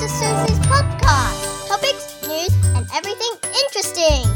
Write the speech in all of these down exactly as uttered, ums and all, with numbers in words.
Sister Susie's podcast. Topics, news, and everything interesting.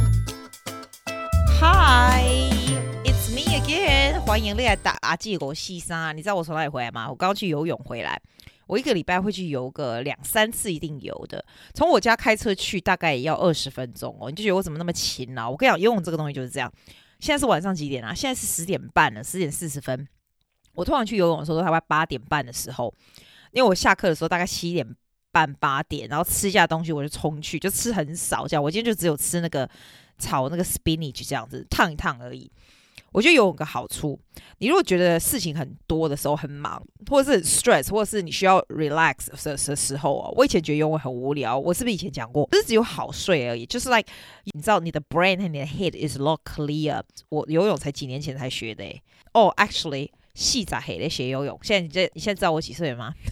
Hi, it's me again. 歡迎你來打阿記我西山。你知道我從哪裡回來嗎？我剛去游泳回來。我一個禮拜會去游個兩三次，一定游的。從我家開車去大概也要二十分鐘哦。你就覺得我怎麼那麼勤勞？我跟你講，游泳這個東西就是這樣。現在是晚上幾點啊？現在是十點半了，十點四十分。我通常去游泳的時候都大概八點半的時候，因為我下課的時候大概七點半八點，然後吃一下東西我就衝去，就吃很少這樣。我今天就只有吃那個炒那個 spinach 這樣子燙一燙而已。我覺得游泳有個好處，你如果覺得事情很多的時候很忙，或者是很 stress， 或者是你需要 relax 的時候啊，我以前覺得游泳很無聊。我是不是以前講過？不是只有好睡而已，就是 like 你知道你的 brain 和你的 head is a lot clear。我游泳才幾年前才學的誒。哦、oh, actually。細仔黑的學游泳，現在你這你現在知道我幾歲了嗎？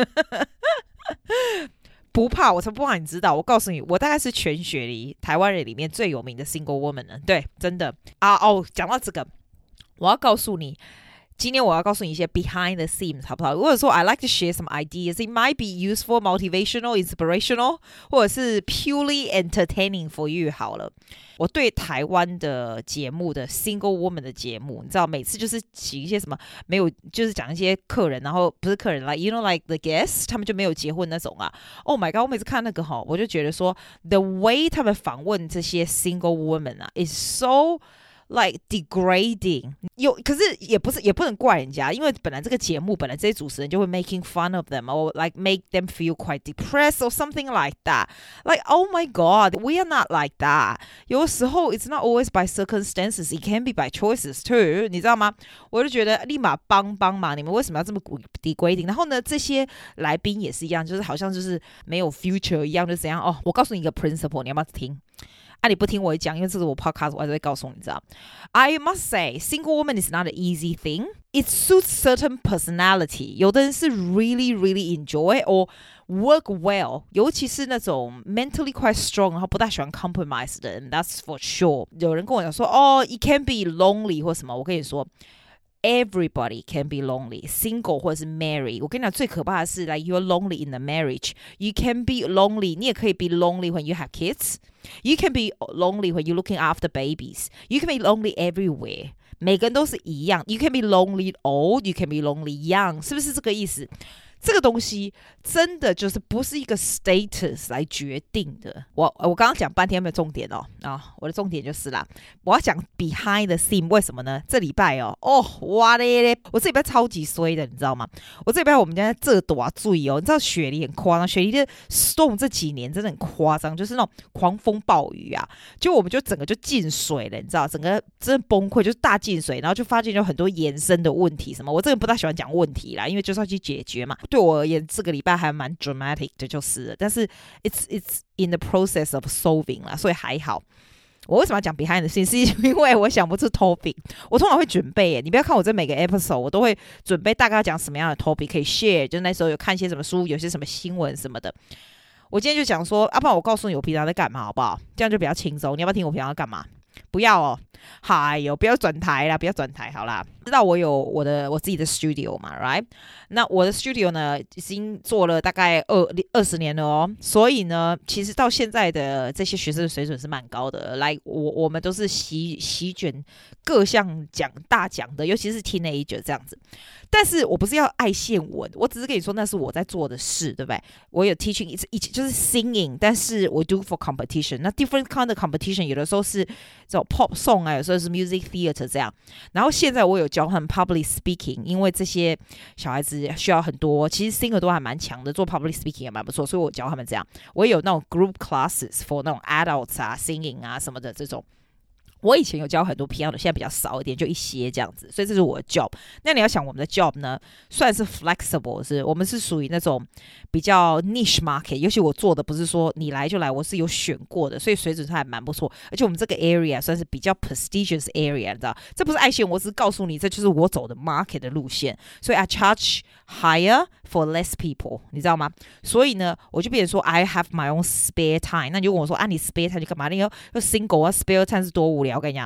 不怕，我才不怕你知道。我告訴你，我大概是全雪梨台灣人裡面最有名的 single woman 了。對，真的啊哦。講到這個，我要告訴你，今天我要告訴你一些 behind the scenes， 好不好？如果說 I like to share some ideas, it might be useful, motivational, inspirational， 或者是 purely entertaining for you 好了。我對台灣的節目的 single woman 的節目，你知道每次就是請一些什麼沒有，就是講一些客人，然後不是客人 like you know like the guests， 他們就沒有結婚那種啊。Oh my god！ 我每次看那個哈，我就覺得說 the way 他們訪問這些 single woman 啊 is so like degrading。有可是也不是也不能怪人家，因為本來這個節目本來這些主持人就會 making fun of them or like make them feel quite depressed or something like that. Like oh my god, we are not like that. 有的時候 it's not always by circumstances, it can be by choices too. 你知道嗎？我就覺得立馬幫幫嘛，你們為什麼要這麼 degrading？ 然後呢，這些來賓也是一樣，就是好像就是沒有 future 一樣，就怎樣哦。我告訴你一個 principle， 你要不要聽？啊，你不聽我講，因為這是我 podcast， 我還是會告訴你，知道 I must say, single woman is not an easy thing. It suits certain personality. 有的人是 really, really enjoy or work well. 尤其是那種 mentally quite strong, 然後不大喜歡 compromise 的人 that's for sure. 有人跟我講說，哦 it can be lonely 或什麼，我跟你說Everybody can be lonely, single 或者是 married. 我跟你講，最可怕的是 like you're lonely in the marriage. You can be lonely. 你也可以 be lonely when you have kids. You can be lonely when you're looking after babies. You can be lonely everywhere. 每個人都是一樣。You can be lonely old. You can be lonely young. 是不是這個意思？這個東西真的就是不是一個 status 來決定的。我我剛剛講半天沒有重點哦啊、哦，我的重點就是啦，我要講 behind the scene。為什麼呢？這禮拜哦哦哇嘞嘞，我這禮拜超級衰的，你知道嗎？我這禮拜我們家這多注意哦，你知道雪梨很誇張，雪梨的 storm 這幾年真的很誇張，就是那種狂風暴雨啊，就我們就整個就進水了，你知道，整個真的崩潰，就是大進水，然後就發現有很多延伸的問題什麼。我這個不大喜歡講問題啦，因為就是要去解決嘛。對我而言，這個禮拜還蠻 dramatic 的，就是了。但是 it's it's in the process of solving 啦，所以還好。我為什麼要講 behind the scenes？ 是因為我想不出 topic。我通常會準備耶，你不要看我這每個 episode， 我都會準備大概要講什麼樣的 topic 可以 share。就那時候有看一些什麼書，有些什麼新聞什麼的。我今天就講說，啊，不然我告訴你我平常在幹嘛，好不好？這樣就比較輕鬆。你要不要聽我平常在幹嘛？不要哦，嗨喲，不要轉台啦，不要轉台，好啦。知道我有我的我自己的 studio 嘛 ，right？ 那我的 studio 呢，已經做了大概二二十年了哦，所以呢，其實到現在的這些學生的水準是蠻高的。來，我我們都是席席捲各項獎大獎的，尤其是 teenager 這樣子。但是我不是要愛現文，我只是跟你說那是我在做的事，對不對？我有 teaching 一一就是 singing， 但是我 do for competition。那 different kind of competition 有的時候是這種 pop song 啊，有時候是 music theater 這樣。然後現在我有教他們 public speaking， 因為這些小孩子需要很多，其實 singer 都還蠻強的，做 public speaking 也蠻不錯，所以我教他們這樣。我也有那種 group classes for 那種 adults 啊 singing 啊什麼的這種。我以前有教很多 piano， 現在比較少一點，就一些這樣子，所以這是我的 job。那你要想我們的 job 呢，算是 flexible， 是我們是屬於那種比較 niche market， 尤其我做的不是說你來就來，我是有選過的，所以水準還蠻不錯。而且我們這個 area 算是比較 prestigious area， 你知道，這不是愛炫，我只是告訴你，這就是我走的 market 的路線。所以 I charge higher for less people， 你知道嗎？所以呢，我就變成說 I have my own spare time。那你就問我說啊，你 spare time 你幹嘛？你要要 single 啊 ，spare time 是多無聊，我跟你講。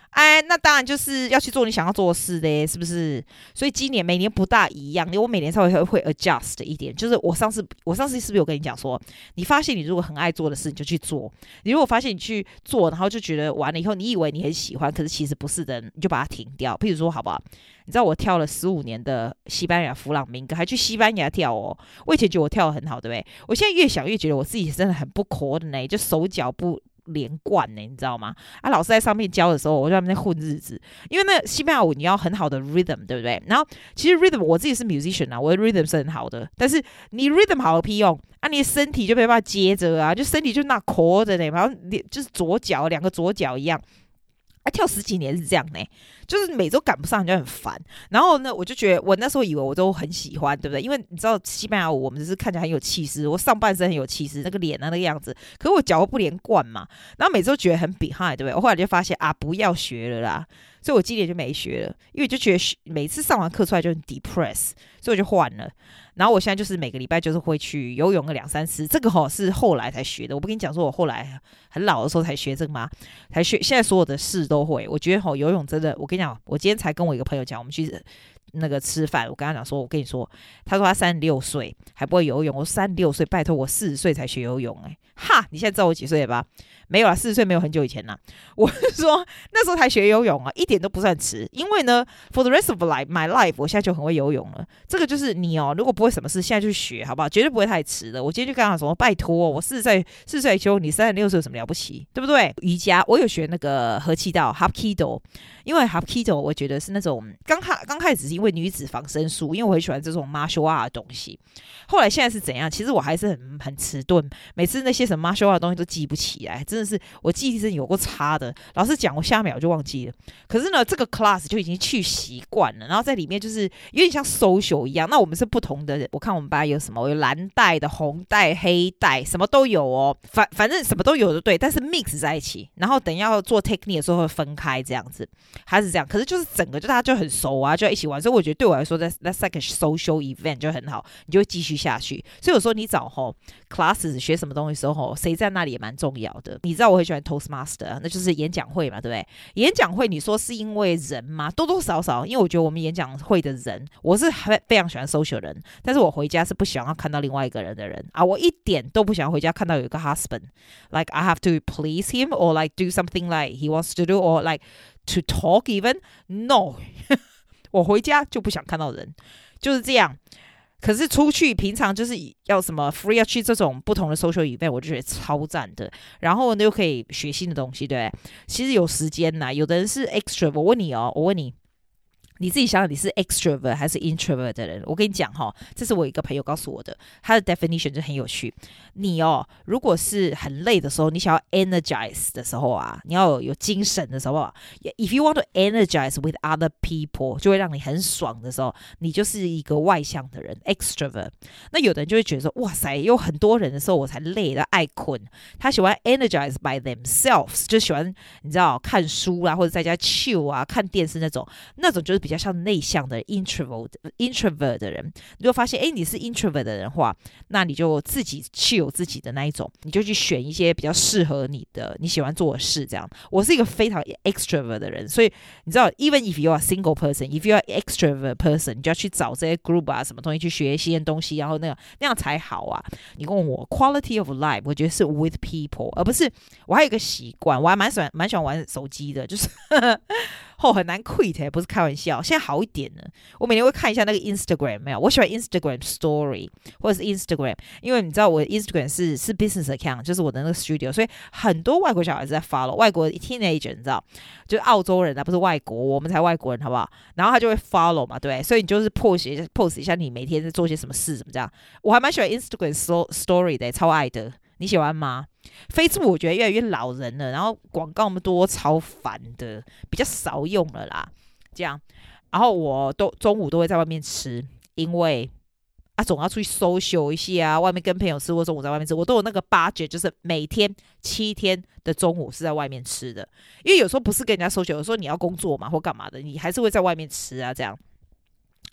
哎，那當然就是要去做你想要做的事嘞，是不是？所以今年每年不大一樣，因為我每年稍微會會 adjust 一點。就是我上次我上次是不是有跟你講說，你發現你如果很愛做的事，你就去做；你如果發現你去做，然後就覺得完了以後，你以為你很喜歡，可是其實不是的，你就把它停掉。譬如說，好不好？你知道我跳了十五年的西班牙弗朗明哥，還去西班牙跳哦。我以前覺得我跳得很好，對不對？我現在越想越覺得我自己真的很不 coordinate，就手腳不連貫呢，你知道嗎？啊，老師在上面教的時候，我就在那邊混日子。因為那西班牙舞你要很好的 rhythm， 對不對？然後其實 rhythm 我自己是 musician 啊，我的 rhythm 是很好的，但是你 rhythm 好有屁用啊？你的身體就沒辦法接着啊，就身體就那 cord 的呢，然後就是左腳兩個左腳一樣。啊，跳十幾年是這樣呢，就是每周趕不上就很煩。然後呢，我就覺得我那時候以為我都很喜歡，對不對？因為你知道西班牙舞我們只是看起來很有氣勢，我上半身很有氣勢，那個臉啊那個樣子，可是我腳不連貫嘛。然後每周覺得很 behind，對不對？我後來就發現啊，不要學了啦。所以我今年就沒學了，因為就覺得每次上完課出來就很 depress，所以我就換了。然後我現在就是每個禮拜就是會去游泳個兩三次，這個齁是後來才學的。我不跟你講說我後來很老的時候才學這個嗎？才學，現在所有的事都會。我覺得齁游泳真的，我跟你講，我今天才跟我一個朋友講，我們去那個吃飯，我跟他講說，我跟你說，他說他三十六歲還不會游泳，我三十六歲，拜託我四十歲才學游泳、欸，哎，哈，你現在知道我幾歲了吧？沒有啦，四十歲沒有很久以前啦。我是說那時候才學游泳啊，一點都不算遲。因為呢 ，for the rest of life, my life， 我現在就很會游泳了。這個就是你哦，如果不會什麼事，現在就學，好不好？絕對不會太遲的。我今天就跟他說，拜託，我四十歲，四十歲修，你三十六歲有什麼了不起，對不對？瑜伽，我有學那個合氣道 Hapkido， 因為 Hapkido 我覺得是那種剛開剛開始是因為女子防身術，因為我很喜歡這種 martial art 的東西。後來現在是怎樣？其實我還是很很遲鈍，每次那些什麼 martial art 的東西都記不起來，真的是我記憶力真的有夠差的。老師講，我下秒就忘記了。可是呢，這個 class 就已經去習慣了，然後在裡面就是有點像 social 一樣。那我們是不同的，我看我們班有什麼，我有藍帶的、紅帶、黑帶，什麼都有哦。反反正什麼都有的，對。但是 mix 在一起，然後等要做 technique 的時候會分開這樣子，還是這樣。可是就是整個就大家就很熟啊，就要一起玩。所以我覺得對我來說，that's that's like a social event 就很好，你就會繼續下去。所以有時候你找吼 classes 學什麼東西的時候吼，誰在那裡也蠻重要的。你知道我很喜歡 Toastmaster， 那就是演講會嘛，對不對？演講會你說是因為人嗎？多多少少，因為我覺得我們演講會的人，我是非常喜歡 social 人，但是我回家是不想要看到另外一個人的人啊，我一點都不想回家看到有一個 husband，like I have to please him or like do something like he wants to do or like to talk even no， 我回家就不想看到人，就是這樣。可是出去平常就是要什麼 free 要去這種不同的 social event， 我就覺得超讚的。然後呢又可以學新的東西，對不對？其實有時間吶，有的人是 extra。我問你哦，我問你。你自己想想，你是 extrovert 還是 introvert 的人？我跟你講哈，這是我一個朋友告訴我的，他的 definition 就很有趣。你哦，如果是很累的時候，你想要 energize 的時候啊，你要有有精神的時候啊 ，if you want to energize with other people， 就會讓你很爽的時候，你就是一個外向的人 extrovert。那有的人就會覺得說，哇塞，有很多人的時候我才累的愛困，他喜歡 energize by themselves， 就喜歡你知道看書啦，或者在家 chill 啊，看電視那種，那種就是比較像內向的 introvert introvert 的人。你就發現，哎，你是 introvert 的人的話，那你就自己 chill 自己的那一種，你就去選一些比較適合你的、你喜歡做的事。這樣，我是一個非常 extrovert 的人，所以你知道 ，even if you are a single person，if you are an extrovert person， 你就要去找這些 group 啊，什麼東西去學一些東西，然後那樣那樣才好啊。你問我 quality of life， 我覺得是 with people， 而不是我還有一個習慣，我還蠻喜歡蠻喜歡玩手機的，就是後、哦、很難 quit， 不是開玩笑。現在好一點了，我每天會看一下那個 Instagram， 沒有，我喜歡 Instagram Story 或者是 Instagram， 因為你知道我的 Instagram 是是 business account， 就是我的那個 studio， 所以很多外國小孩子在 follow， 外國的 teenager 你知道，就是澳洲人啊，不是外國，我們才外國人，好不好？然後他就會 follow 嘛，對，所以你就是 post 一下 post 一下你每天在做些什麼事，怎麼這樣？我還蠻喜歡 Instagram Story 的，超愛的，你喜歡嗎？Facebook 我覺得越來越老人了，然後廣告那麼多，超煩的，比較少用了啦。這樣，然後我都中午都會在外面吃，因為啊總要出去 social 一下啊，外面跟朋友吃或中午在外面吃，我都有那個 budget， 就是每天七天的中午是在外面吃的。因為有時候不是跟人家 social，有時候你要工作嘛或幹嘛的，你還是會在外面吃啊這樣。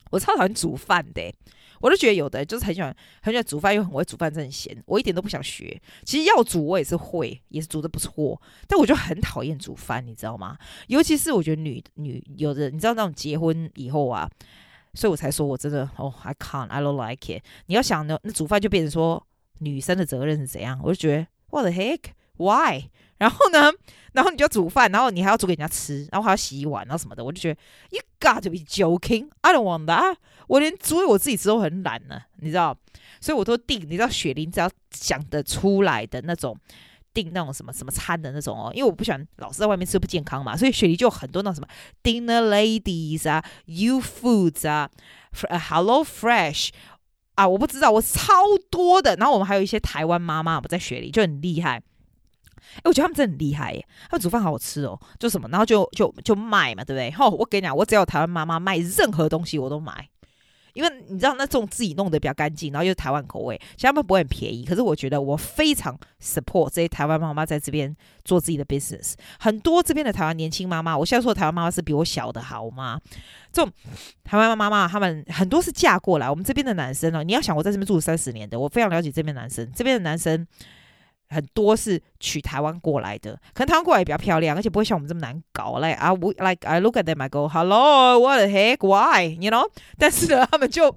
我超討厭煮飯的、欸，我都覺得有的人就是很喜歡很喜歡煮飯，又很會煮飯，真的很閒。我一點都不想學。其實要煮我也是會，也是煮得不錯，但我就很討厭煮飯，你知道嗎？尤其是我覺得女女有的，你知道那種結婚以後啊，所以我才說我真的哦、oh, ，I can't, I don't like it。你要想呢，那煮飯就變成說女生的責任是怎樣？我就覺得 What the heck, why？ 然後呢，然後你就要煮飯，然後你還要煮給人家吃，然後還要洗碗，然後什麼的，我就覺得 You got to be joking, I don't want that。我連煮給我自己吃都很懶呢，你知道，所以我都訂，你知道雪梨只要想得出來的那種訂那種什麼什麼餐的那種哦，因為我不喜歡老是在外面吃不健康嘛，所以雪梨就有很多那種什麼 Dinner Ladies 啊 ，You Foods 啊 ，Hello Fresh 啊，我不知道，我超多的。然後我們還有一些台灣媽媽，我們在雪梨就很厲害。哎，我覺得他們真的很厲害耶，他們煮飯好好吃哦，就什麼，然後就就就賣嘛，對不對？吼，我跟你講，我只要有台灣媽媽賣任何東西我都買。因為你知道那種自己弄得比較乾淨，然後又是台灣口味，其實他們不會很便宜。可是我覺得我非常 support 這些台灣媽媽在這邊做自己的 business。很多這邊的台灣年輕媽媽，我現在說的台灣媽媽是比我小的好嗎？這種台灣媽媽，他們很多是嫁過來。我們這邊的男生呢，你要想我在這邊住了三十年的，我非常了解這邊的男生。這邊的男生很多是娶台灣過來的，可能台灣過來也比較漂亮，而且不會像我們這麼難搞。Like I like I look at them, I go, Hello, what the heck, why? You know? 但是呢，他們就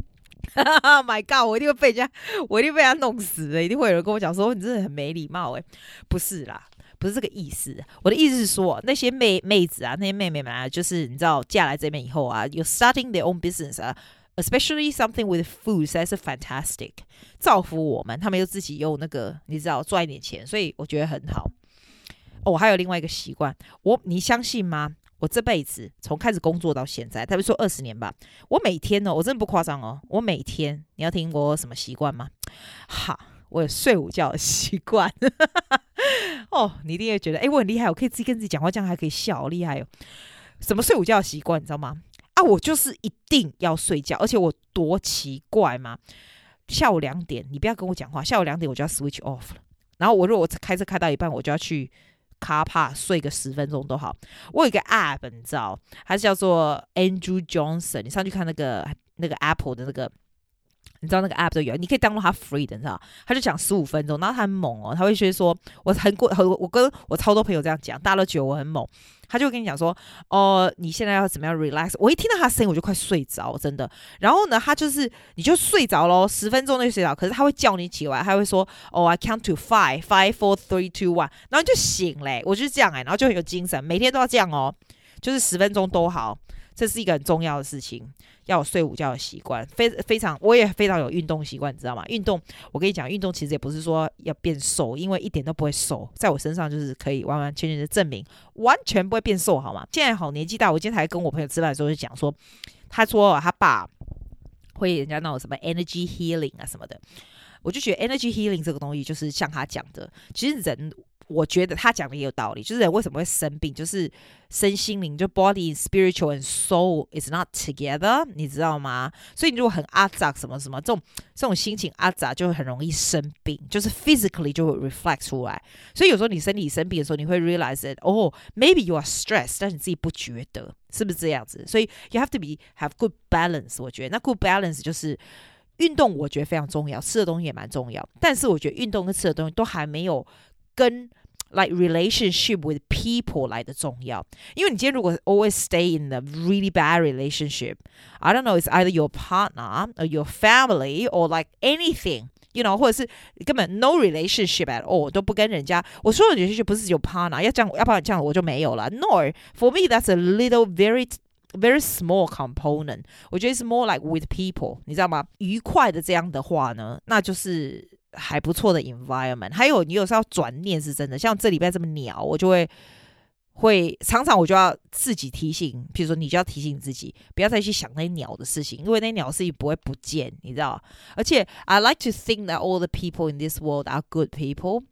，Oh my God， 我一定會被人家，我一定被人家弄死的，一定會有人跟我講說你真的很沒禮貌哎，不是啦，不是這個意思。我的意思是說，那些妹妹子啊，那些妹妹們啊，就是你知道嫁來這邊以後啊，有 starting their own business 啊。Especially something with food， 實在是 fantastic， 造福我們。他們又自己有那個，你知道賺一點錢，所以我覺得很好。哦，我還有另外一個習慣，我你相信嗎？我這輩子從開始工作到現在，他們說二十年吧，我每天呢，我真的不誇張哦，我每天，你要聽我有什麼習慣嗎？哈，我有睡午覺的習慣。哦，你一定會覺得，哎，我很厲害，我可以自己跟自己講話，這樣還可以笑，好厲害哦。什麼睡午覺的習慣，你知道嗎？啊，我就是一定要睡覺，而且我多奇怪嘛！下午兩點，你不要跟我講話，下午兩點我就要 switch off 了。然後我如果我開車開到一半，我就要去 car park 睡個十分鐘都好。我有一個 app， 你知道，它是叫做 Andrew Johnson， 你上去看那個那個 Apple 的那個。你知道那個 app 都有，你可以 download 它 free 的，你知道？他就講十五分鐘，然後他很猛哦，他會覺得說，我很過，我跟我超多朋友這樣講，大家都覺得我很猛。他就會跟你講說，哦、呃，你現在要怎麼樣 relax？ 我一聽到他的聲音，我就快睡着，真的。然後呢，他就是你就睡着咯，十分鐘就睡着。可是他會叫你起來，他會說，哦 ，I count to five, five, four, three, two, one， 然後你就醒嘞。我就是這樣哎、欸，然後就很有精神，每天都要這樣哦，就是十分鐘都好。這是一個很重要的事情，要有睡午覺的習慣，非非常，我也非常有運動習慣，你知道嗎？運動，我跟你講，運動其實也不是說要變瘦，因為一點都不會瘦，在我身上就是可以完完全全的證明，完全不會變瘦，好嗎？現在好年紀大，我今天還跟我朋友吃飯的時候就講說，他說他爸會人家那種什麼 energy healing 啊什麼的，我就覺得 energy healing 這個東西就是像他講的，其實人。我覺得他講的也有道理，就是人為什麼會生病，就是身心靈，就 body, spiritual and soul is not together， 你知道嗎？所以你如果很阿雜什麼什麼這種這種心情阿雜，就會很容易生病，就是 physically 就會 reflect 出來。所以有時候你身體生病的時候，你會 realize that oh maybe you are stressed， 但是你自己不覺得，是不是這樣子？所以 you have to be have good balance。我覺得那 good balance 就是運動，我覺得非常重要，吃的東西也蠻重要，但是我覺得運動跟吃的東西都還沒有跟 like relationship with people 來的重要，因為你今天如果 always stay in a really bad relationship, I don't know, it's either your partner or your family or like anything, you know, 或者是根本 no relationship at all， 都不跟人家。我說的 relationship 不是有 partner， 要這樣，要不然這樣我就沒有了。No, for me that's a little very very small component。我覺得是 more like with people， 你知道嗎？愉快的這樣的話呢，那就是還不錯的 environment。還有你有時候要轉念是真的，像這禮拜這麼鳥，我就會會常常我就要自己提醒，比如說你就要提醒自己，不要再去想那些鳥的事情，因為那些鳥的事情不會不見，你知道。而且 I like to think that all the people in this world are good people。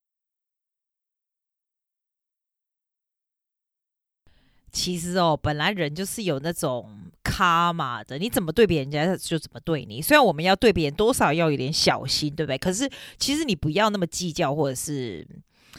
其實哦，本來人就是有那種karma的，你怎麼對別人家就怎麼對你。雖然我們要對別人多少要有點小心，對不對？可是其實你不要那麼計較，或者是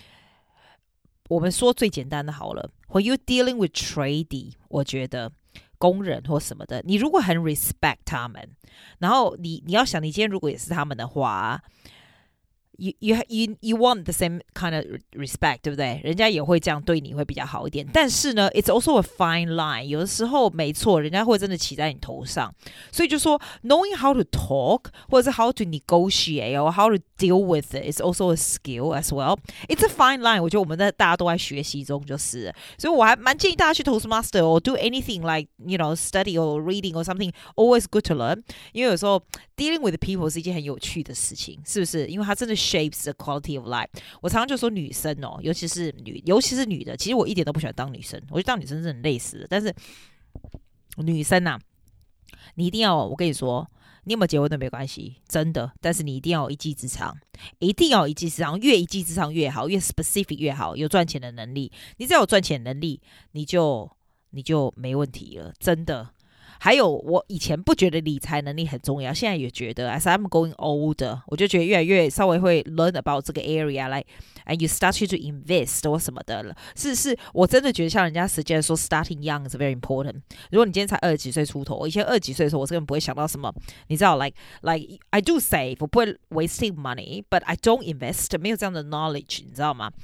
我們說最簡單的好了。When you dealing with trading，我覺得工人或什麼的，你如果很 respect 他們，然後你你要想，你今天如果也是他們的話。You, you, you, you want the same kind of respect, 對不對？人家也會這樣對你會比較好一點。但是呢 it's also a fine line. 有的時候沒錯，人家會真的騎在你頭上。所以就說 knowing how to talk 或者是 how to negotiate or how to deal with it is also a skill as well. It's a fine line. 我覺得我們在大家都在學習中就是。所以我還蠻建議大家去 Toastmaster or do anything like, you know, study or reading or something. Always good to learn. 因為有時候 dealing with people 是一件很有趣的事情，是不是？因為它真的shapes the quality of life. 我常常就說女生哦，尤其是女，尤其是女的，其實我一點都不喜歡當女生，我覺得當女生真的很累死了。但是女生啊，你一定要，我跟你說，你有沒有結婚都沒關係，真的。但是你一定要有一技之長，一定要有一技之長，越一技之長越好，越 specific 越好，有賺錢的能力。你只要有賺錢的能力，你就你就沒問題了，真的。還有，我以前不覺得理財能力很重要，現在也覺得 as I'm going older 我就覺得越來越稍微會 learn about 這個 area like and you start to invest 或什麼的了。是是，我真的覺得像人家 suggest 說 starting young is very important。如果你今天才二十幾歲出頭，我以前二十幾歲的時候，我根本不會想到什麼，你知道 like like I do save 我不會 wasting money but I don't invest 沒有這樣的 knowledge 你知道嗎？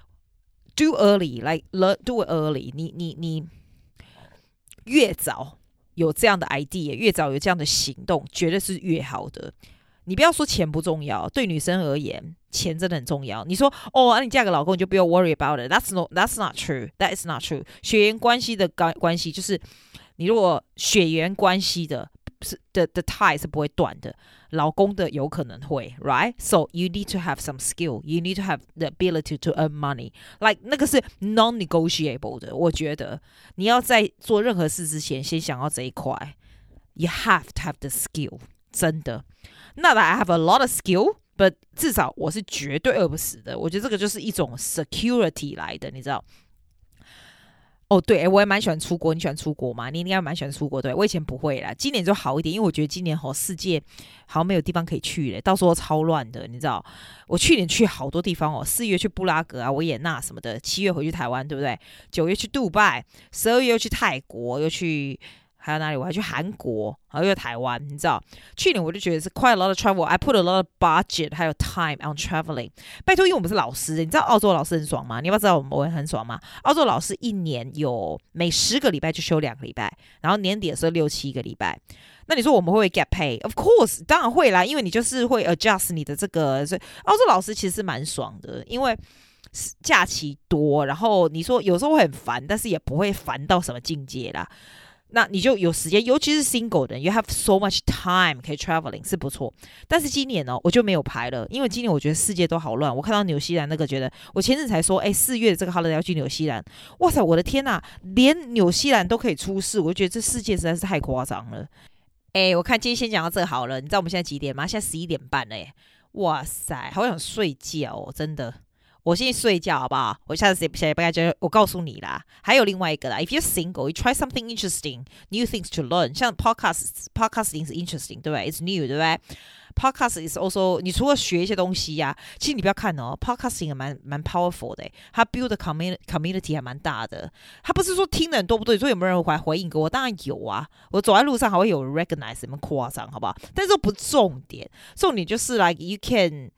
Do early like learn do it early 你你你越早有這樣的 idea 越早有這樣的行動絕對是越好的。你不要說錢不重要，對女生而言錢真的很重要。你說哦、啊、你嫁個老公你就不要 worry about it. That's, no, that's not true. That is not true. 血緣關係的關係就是你如果血緣關係的是的的 tie 是不會斷的，老公的有可能會 right? So you need to have some skill. You need to have the ability to earn money. Like 那個是 non-negotiable 的。我覺得你要在做任何事之前先想到這一塊。You have to have the skill. 真的。Not that I have a lot of skill, but 至少我是絕對餓不死的。我覺得這個就是一種 security 來的，你知道。哦，對，我也蠻喜歡出國。你喜歡出國嗎？你應該蠻喜歡出國，對？我以前不會啦，今年就好一點，因為我覺得今年吼世界好像沒有地方可以去了，到時候超亂的，你知道？我去年去好多地方哦，四月去布拉格啊、維也納什麼的，七月回去台灣，對不對？九月去杜拜，十二月又去泰國，又去。還有哪裡？我還去韓國，還有台灣，你知道？去年我就覺得是 quite a lot of travel. I put a lot of budget 還有 time on traveling. 拜托，因為我們是老師，你知道澳洲老師很爽嗎？你要不要知道我們我們很爽嗎？澳洲老師一年有每十個禮拜就休兩個禮拜，然後年底的時候六七個禮拜。那你說我們會不會 get pay? Of course， 當然會啦，因為你就是會 adjust 你的這個。所以澳洲老師其實是蠻爽的，因為假期多，然後你說有時候會很煩，但是也不會煩到什麼境界啦。那你就有時間，尤其是 single 的人 ，you have so much time 可以 traveling 是不錯。但是今年呢、哦，我就沒有排了，因為今年我覺得世界都好亂。我看到紐西蘭那個，覺得我前陣才說，哎，四月的這個 holiday 要去紐西蘭，哇塞，我的天吶，連紐西蘭都可以出事，我就覺得這世界實在是太誇張了。哎，我看今天先講到這個好了。你知道我們現在幾點嗎？現在十一點半了耶，哇塞，好想睡覺哦，真的。我先去睡覺好不好？我下次誰誰不該就我告訴你啦。還有另外一個啦 ，If you're single, you try something interesting, new things to learn。像 podcast, podcasting 是 interesting， 對不對 ？It's new， 對不對 ？Podcast is also， 你除了學一些東西呀、啊，其實你不要看哦 ，podcasting 也蠻蠻 powerful 的，它 build the community community 還蠻大的。它不是說聽的人多不多，你說有沒有人回回應給我？當然有啊，我走在路上還會有人 recognize， 什麼誇張，好不好？但是這不是重點，重點就是 like you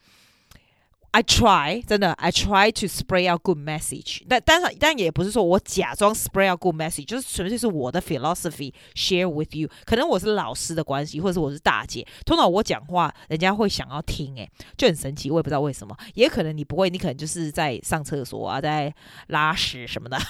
can。I try 真的 I try to spray out good message 但但是但也不是說我假裝 spray out good message 就是純粹是我的 philosophy share with you 可能我是老師的關係或者是我是大姐通常我講話人家會想要聽誒就很神奇我也不知道為什麼也可能你不會你可能就是在上廁所啊在拉屎什麼的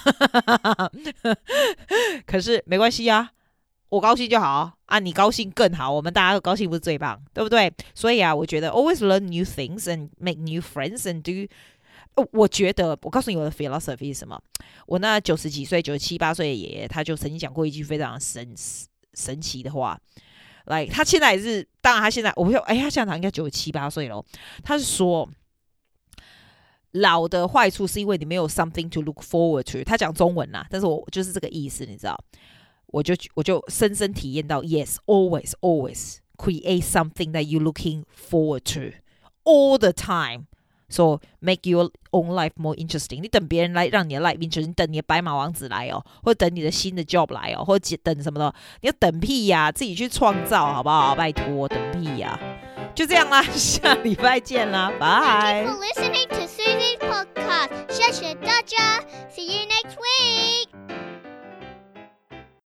可是沒關係啊我高興就好啊，你高興更好，我們大家都高興不是最棒，對不對？所以啊，我覺得 always learn new things and make new friends and do、哦。我覺得，我告訴你我的 philosophy 是什麼？我那九十幾歲、九十七八歲的爺爺，他就曾經講過一句非常神神奇的話。來、like, 他現在也是，當然他現在，我不說，哎，他現在應該九十七八歲了。他是說，老的壞處是因為你沒有 something to look forward to。他講中文啦，但是我就是這個意思，你知道。我就我就深深體驗到 ，yes, always, always create something that you looking forward to all the time。 So make your own life more interesting. 你等別人來讓你的 life interesting， 你等你的白馬王子來哦，或者等你的新的 job 來哦，或者等什麼的，你要等屁呀、啊，自己去創造好不好？拜託，等屁呀、啊！就這樣啦，下禮拜見啦，拜。 Thank you for listening to Susie's podcast. 謝謝大家 ，See you next week.